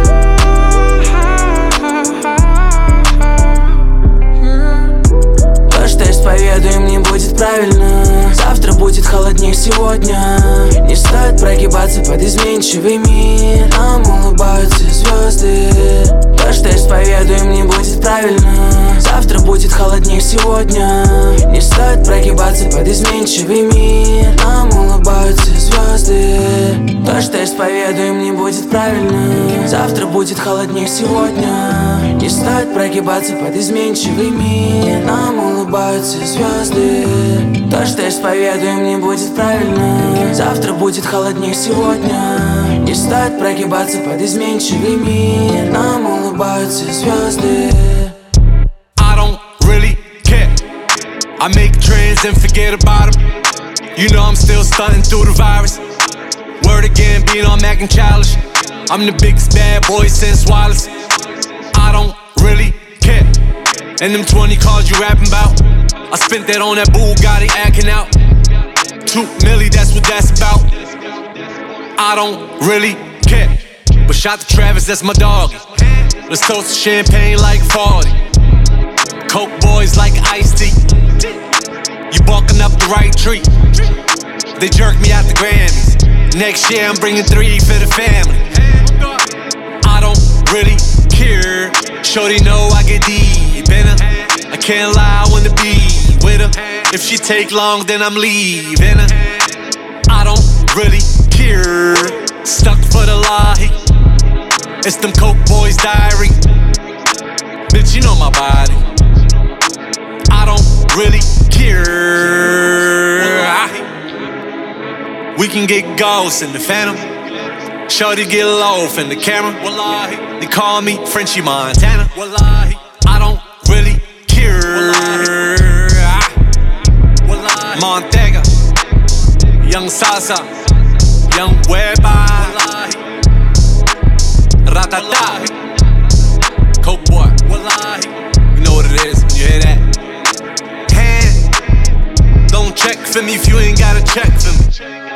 То, что исповедуем, не будет правильно. Завтра будет холоднее сегодня. Не стоит прогибаться под изменчивый мир. Нам улыбаются звезды. То, что исповедуем, не будет правильно. Завтра будет холоднее сегодня. Не стоит прогибаться под изменчивый мир. Нам улыбаются звезды. То, что исповедуем, не будет правильно. Завтра будет холоднее сегодня. Не стоит прогибаться под изменчивый мир. Нам улыбаются звезды. То, что исповедуем, не будет правильно. Завтра будет холоднее сегодня. Не стоит прогибаться под изменчивый мир. Нам улыбаются звезды. I don't really care. I make trends and forget about them. You know I'm still stunting through the virus. Word again, being on Mac and childish. I'm the biggest bad boy since Wallace. I don't really care. And them twenty cars you rapping about, I spent that on that Bugatti acting out. Two milli, that's what that's about. I don't really care. But shout to Travis, that's my dog. Let's toast to champagne like forty. Coke boys like iced tea. You barking up the right tree. They jerk me out the Grammys. Next year I'm bringing three for the family. I don't really care. Shorty know I get deep in her. I can't lie, I wanna be with her. If she take long, then I'm leaving her. I don't really care. Stuck for the lie. It's them Coke boys' diary. Bitch, you know my body. I don't really care. We can get ghosts in the Phantom. Shorty get low in the camera. Wallahi. They call me Frenchie Montana. Wallahi. I don't really care. Wallahi. Montega, Young Salsa, Young Whereby, Ratata, Coke boy. Wallahi. You know what it is when you hear that. Hand, don't check for me if you ain't gotta check for me.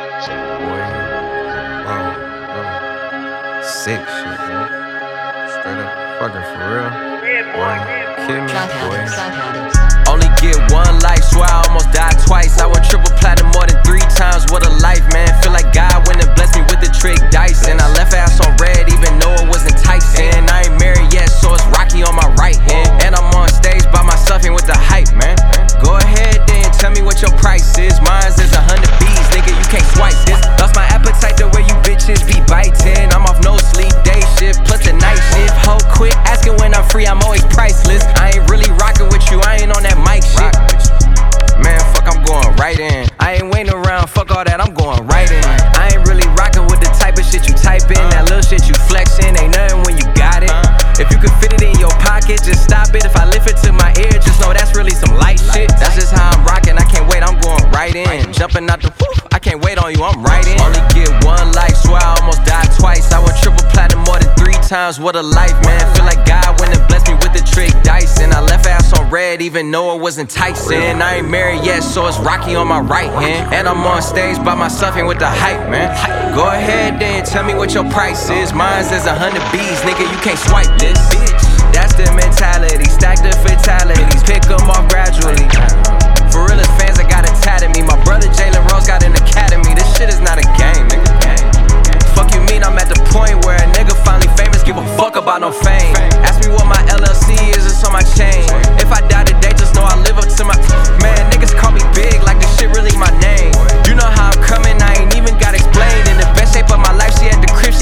Sick shit, man. Straight up fucking for real. Boy, kid me, boy. Only get one life, swear I almost died twice. I went triple platinum more than three times. What a life, man. Feel like God went and blessed me with the trick dice. And I left ass on red even though it was enticing. I ain't married yet, so it's Rocky on my right hand. And I'm on stage by myself and with the hype, man. Go ahead then, tell me what your price is. Mine's is a hundred B's, nigga, you can't swipe this. Lost my appetite the way you bitches be biting. I'm off no sleep, day shift, plus the night shift. Ho quick, asking when I'm free, I'm always priceless. I ain't really rocking with you, I ain't on that mic shit. Man, fuck, I'm going right in. I ain't waiting around, fuck all that, I'm going right in. I ain't really rocking with the type of shit you type in. That little shit you flexing, ain't nothing when you got it. If you can fit it in your pocket, just stop it. If I lift it to my ear, just know that's really some light shit. That's just how I'm rocking, I can't wait, I'm going right in. Jumping out the whoop, I can't wait on you, I'm right in. Only get one life, swear I almost died twice. I went triple platinum more than three times, what a life, man. Feel like God went and blessed me with the trick dice. And I left ass on red even though it was enticing. I ain't married yet, so it's Rocky on my right hand. And I'm on stage by myself and with the hype, man. Go ahead then, tell me what your price is. Mine's is a hundred B's, nigga, you can't swipe this. That's the mentality, stack the fatalities, pick them off gradually. For real as fans, I got it tatted me. My brother Jalen Rose got an academy. This shit is not a game, nigga. Fuck you mean I'm at the point where a nigga finally famous, give a fuck about no fame. Ask me what my L L C is, it's on my chain. If I die today, just know I live up to my. Man, niggas call me big like this shit really my name. You know how I'm coming, I ain't even got explained. In the best shape of my life, she at the crib, she getting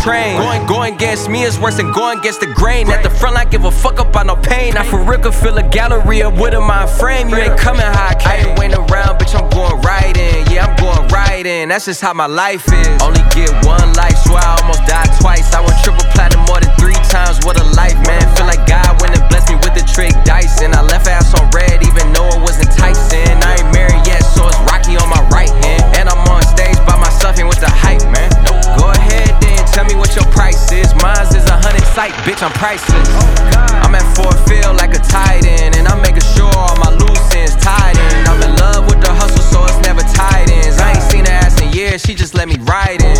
train. Going, going against me is worse than going against the grain. At the front line, give a fuck about no pain. I for real could feel a gallery of wood in my frame. You ain't coming how I came. I ain't waiting around, bitch, I'm going right in. Yeah, I'm going right in. That's just how my life is. Only get one life, swear I almost died twice. I went triple platinum more than three times. What a life, man. Feel like God went and blessed me with the trick dice. And I left ass on red, even though it was enticing. I ain't married yet, so it's Rocky on my right hand. And I'm on stage by myself, ain't with the hype, man. Nope. Go ahead then, tell me what your price is. Mine's is a hundred sight, bitch, I'm priceless. I'm at Ford Field like a tight end, and I'm making sure all my loose ends tied in. I'm in love with the hustle, so it's never tight ends. I ain't seen her ass in years, she just let me ride in.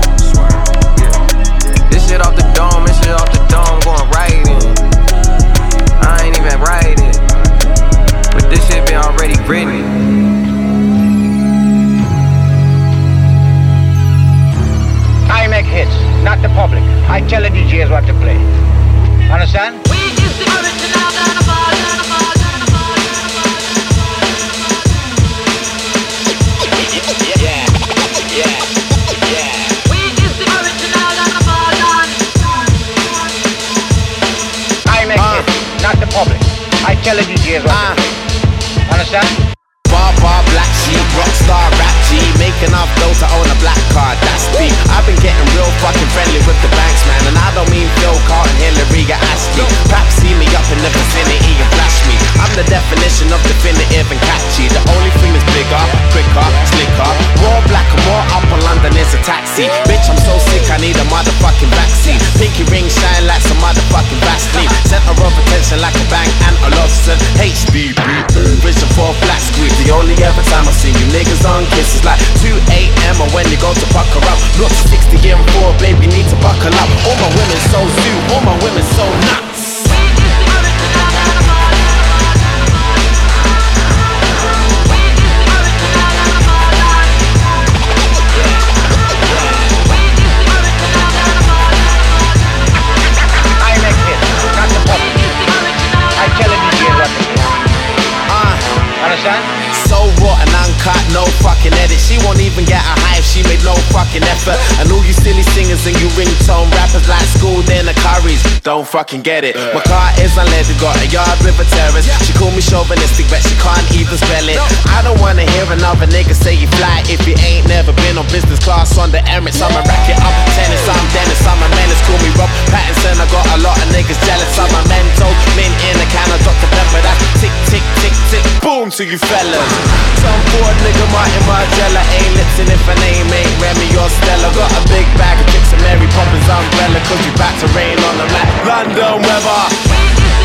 This shit off the dome, this shit off the dome, going right in. I ain't even writing, but this shit been already written. I make hits, not the public. I tell the D Js what to play. Understand? We is the original Dynamite, Dynamite, Dynamite, Dynamite. Yeah, yeah, yeah. We is the original Dynamite. I make uh. hits, not the public. I tell the D Js what uh. to play. Understand? Bar, bar, black sheep, rockstar, rap G. Making enough dough to own a black card, that's deep. I've been getting real fucking friendly with the banks, man. And I don't mean Phil Carlton, Hillary, or Ashley. Perhaps see me up in the vicinity and flash me. I'm the definition of definitive and catchy. The only thing that's bigger, quicker, slicker. More black and more up on London is a taxi. Bitch, I'm so sick, I need a motherfucking vaccine. Pinky ring shine like some motherfucking Vaseline. Center of attention like a bang and a Lawson. H D B, vision for a flat screen. The only ever time I've seen you niggas on kisses like two a.m. or when you go to pucker up. Look sixty and four, baby, need to buckle up. All my women so zoo, all my women so nuts. I make hits, not the public. I tell the D Js what to play. Uh, Understand? So raw and uncut, no fucking edit. She won't even get a high if she made no fucking effort. And all you silly singers and you ringtone rappers like school dinner curries don't fucking get it. My car is unleaded, got a yard with a terrace. She call me chauvinistic, but she can't even spell it. I don't wanna hear another nigga say you fly if you ain't never been on business class on the Emirates. I'ma rack it up, tennis, I'm Dennis, I'm a menace. Call me Rob Pattinson, I got a lot of niggas jealous. I'm a mental, mint in a can of Doctor Pepper. That's tick, tick, tick, tick, boom to you fellas. Some bored nigga Martin Margiela ain't lipsin' if her name ain't Remy or Stella. Got a big bag of tricks and Mary Poppins umbrella, cause we back to rain on them like London weather.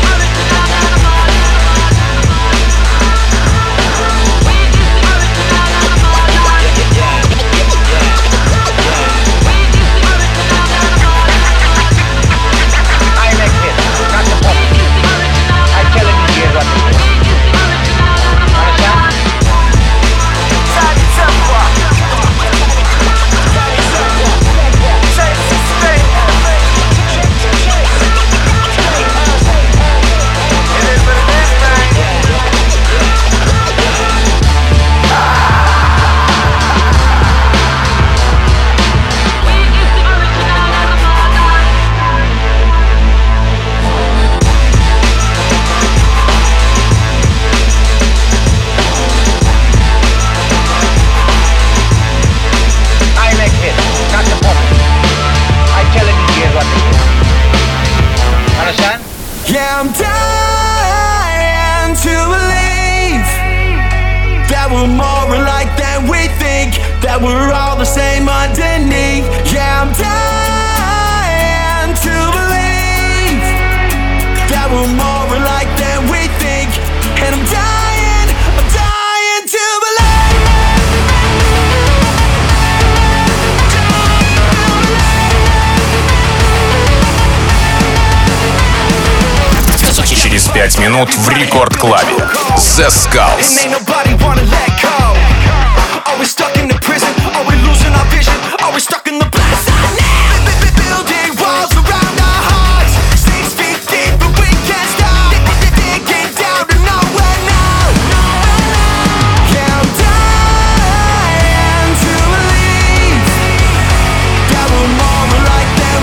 Yeah, I'm dying to believe that we're more alike than we think, that we're all the same underneath. Yeah, I'm dying to believe that we're more alike than we think, and I'm dying, I'm dying to Через пять минут в Рекорд Клабе. The Skulls. Are we stuck in the prison? Are we losing our vision? Are we stuck in the blast? Building walls around our hearts, six feet deep, but we can't stop. Digging down to nowhere now. Yeah, I'm dying to believe that we're more alike than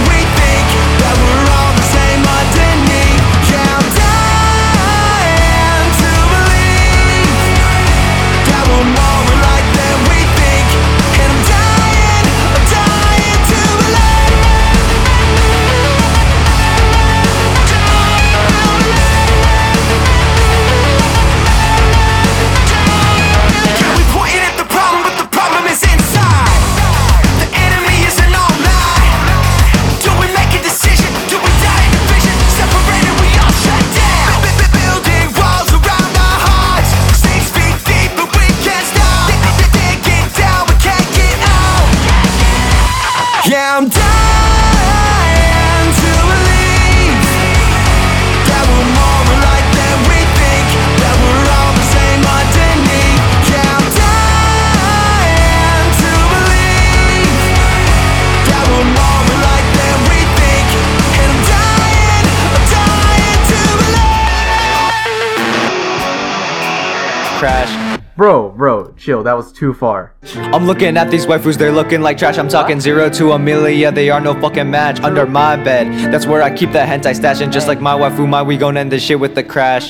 trash. Bro, bro, chill, that was too far. I'm looking at these waifus, they're looking like trash. I'm talking zero to a million, they are no fucking match. Under my bed, that's where I keep the hentai stash. And just like my waifu, my we gon' end this shit with the crash.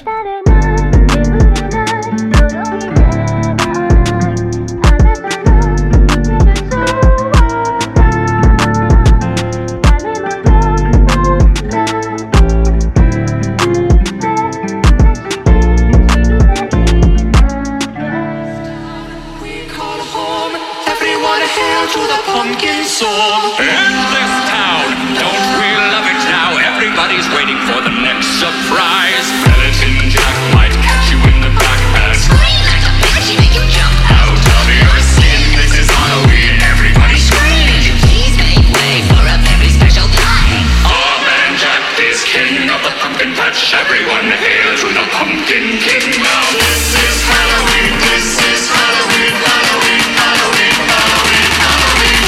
In this town, don't we love it now? Everybody's waiting for the next surprise. Skeleton Jack might catch you in the back and scream like a banshee, make you jump out of your skin. This is Halloween, everybody scream. Could you please make way for a very special guy? Our man Jack is king of the pumpkin patch. Everyone hail to the pumpkin king now. This is Halloween, this is Halloween, Halloween, Halloween, Halloween, Halloween.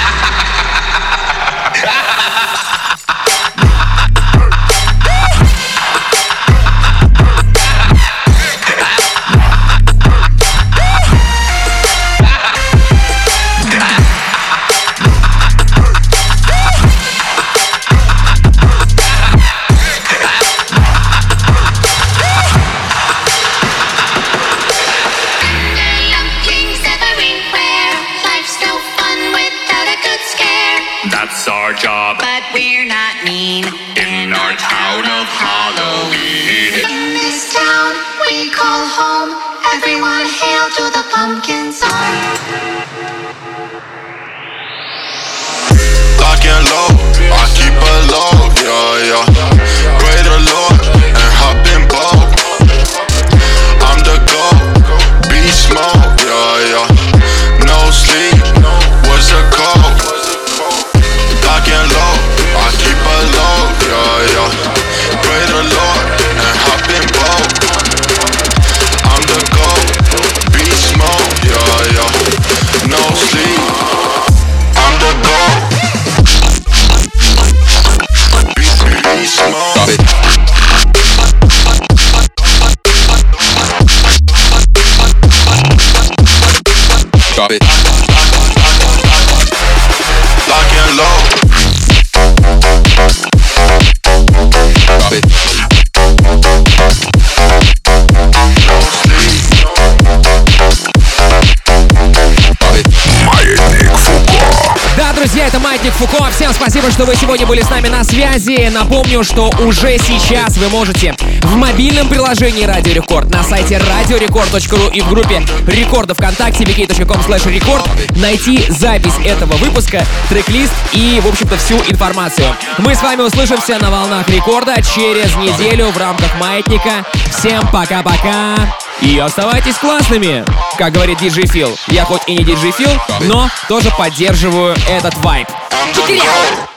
That's our job, but we're not mean. In our town of Halloween, in this town we call home. Everyone hail to the pumpkin song. Lock and load, I keep a load, yeah, yeah. Pray the Lord and hop in boat. I'm the GOAT, beast mode, yeah, yeah. No sleep, what's the code? Lock and load, I keep a load, yeah, yeah. Pray the Lord and hop in boat. I'm the GOAT, beast mode, yeah, yeah. No sleep, I'm the GOAT. Beast mode. Drop it. Lock and load. Drop it. Маятник Фуко. Да, друзья, это Маятник Фуко. Всем спасибо, что вы сегодня были с нами на связи. Напомню, что уже сейчас вы можете в мобильном приложении Радио Рекорд, на сайте радиорекорд точка ру и в группе Рекорда ВКонтакте ви кей точка ком слэш рекорд найти запись этого выпуска, трек-лист и, в общем-то, всю информацию. Мы с вами услышимся на волнах Рекорда через неделю в рамках Маятника. Всем пока-пока и оставайтесь классными. Как говорит диджей Фил, я хоть и не диджей Фил, но тоже поддерживаю этот вайб. I'm the GOAT.